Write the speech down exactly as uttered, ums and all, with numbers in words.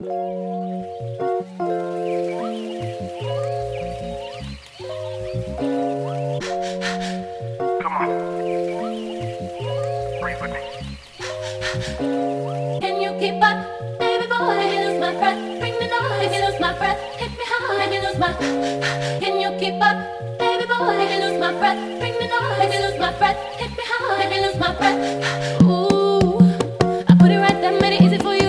Come on. Breathe with me. Can you keep up, baby boy? Make me lose my breath. Bring me noise. Make me lose my breath. Hit me hard. Make me lose my. Can you keep up, baby boy? Make me lose my breath. Bring me noise. Make me lose my breath. Hit me hard. Make me lose my breath. Ooh, I put it right there, made it easy for you.